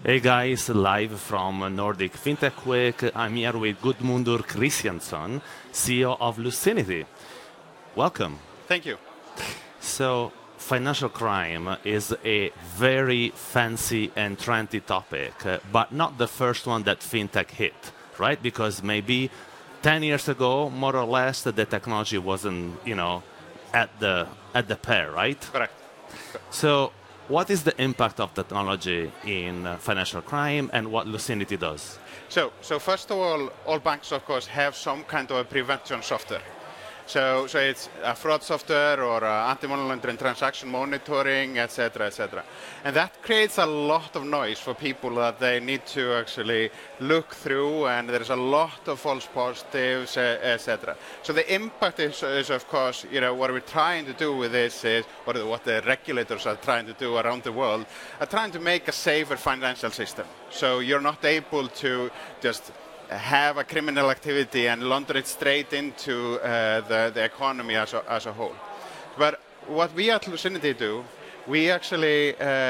Hey guys, live from Nordic FinTech Week. I'm here with Gudmundur Kristjansson, CEO of Lucinity. Welcome. Thank you. So, financial crime is a very fancy and trendy topic, but not the first one that FinTech hit, right? Because maybe 10 years ago, more or less, the technology wasn't, at the pair, right? Correct. So, what is the impact of technology in financial crime and what Lucinity does? So first of all banks, of course, have some kind of a prevention software. So it's a fraud software or anti-money laundering transaction monitoring, etc., etc. And that creates a lot of noise for people that they need to actually look through, and there's a lot of false positives, etc. So the impact is of course, what we're trying to do with this is, or what the regulators are trying to do around the world, are trying to make a safer financial system. So you're not able to just have a criminal activity and launder it straight into the economy as a whole. But what we at Lucinity do, we actually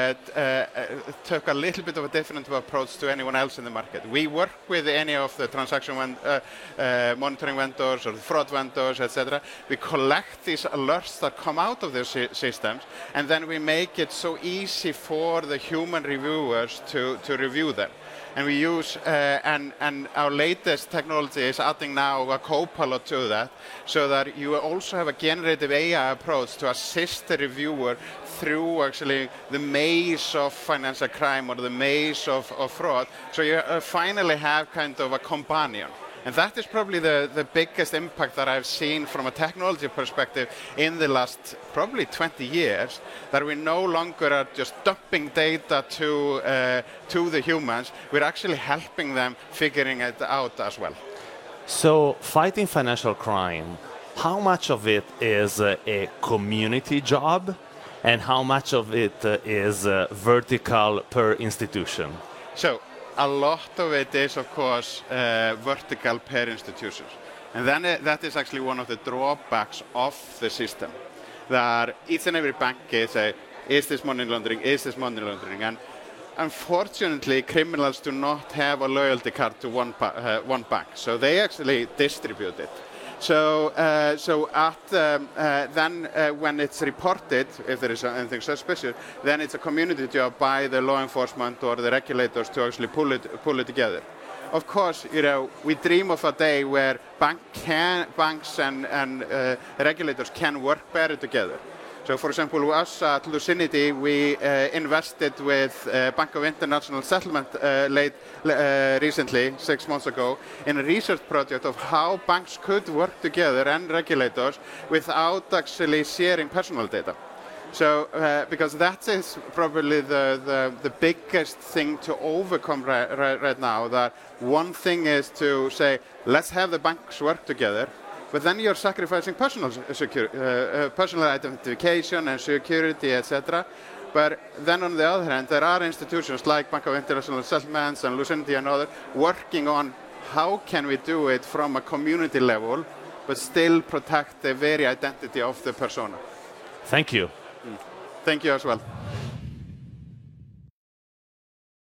took a little bit of a different approach to anyone else in the market. We work with any of the transaction monitoring vendors or the fraud vendors, etc. We collect these alerts that come out of those systems, and then we make it so easy for the human reviewers to review them. And we use, and our latest technology is adding now a co-pilot to that, so that you also have a generative AI approach to assist the reviewer through actually the maze of financial crime or the maze of fraud. So you finally have kind of a companion. And that is probably the biggest impact that I've seen from a technology perspective in the last probably 20 years, that we no longer are just dumping data to the humans, we're actually helping them figuring it out as well. So fighting financial crime, how much of it is a community job and how much of it is vertical per institution? So a lot of it is, of course, vertical per institutions. And then that is actually one of the drawbacks of the system, that each and every bank is this money laundering, is this money laundering? And unfortunately, criminals do not have a loyalty card to one bank, so they actually distribute it. So then when it's reported, if there is anything suspicious, then it's a community job by the law enforcement or the regulators to actually pull it together. Of course, we dream of a day where banks and regulators can work better together. So, for example, us at Lucinity, we invested with Bank of International Settlement recently, 6 months ago, in a research project of how banks could work together and regulators without actually sharing personal data. So, because that is probably the biggest thing to overcome right now, that one thing is to say, let's have the banks work together, but then you're sacrificing personal identification and security, etc. But then on the other hand, there are institutions like Bank of International Settlements and Lucinity and others working on how can we do it from a community level, but still protect the very identity of the persona. Thank you. Thank you as well.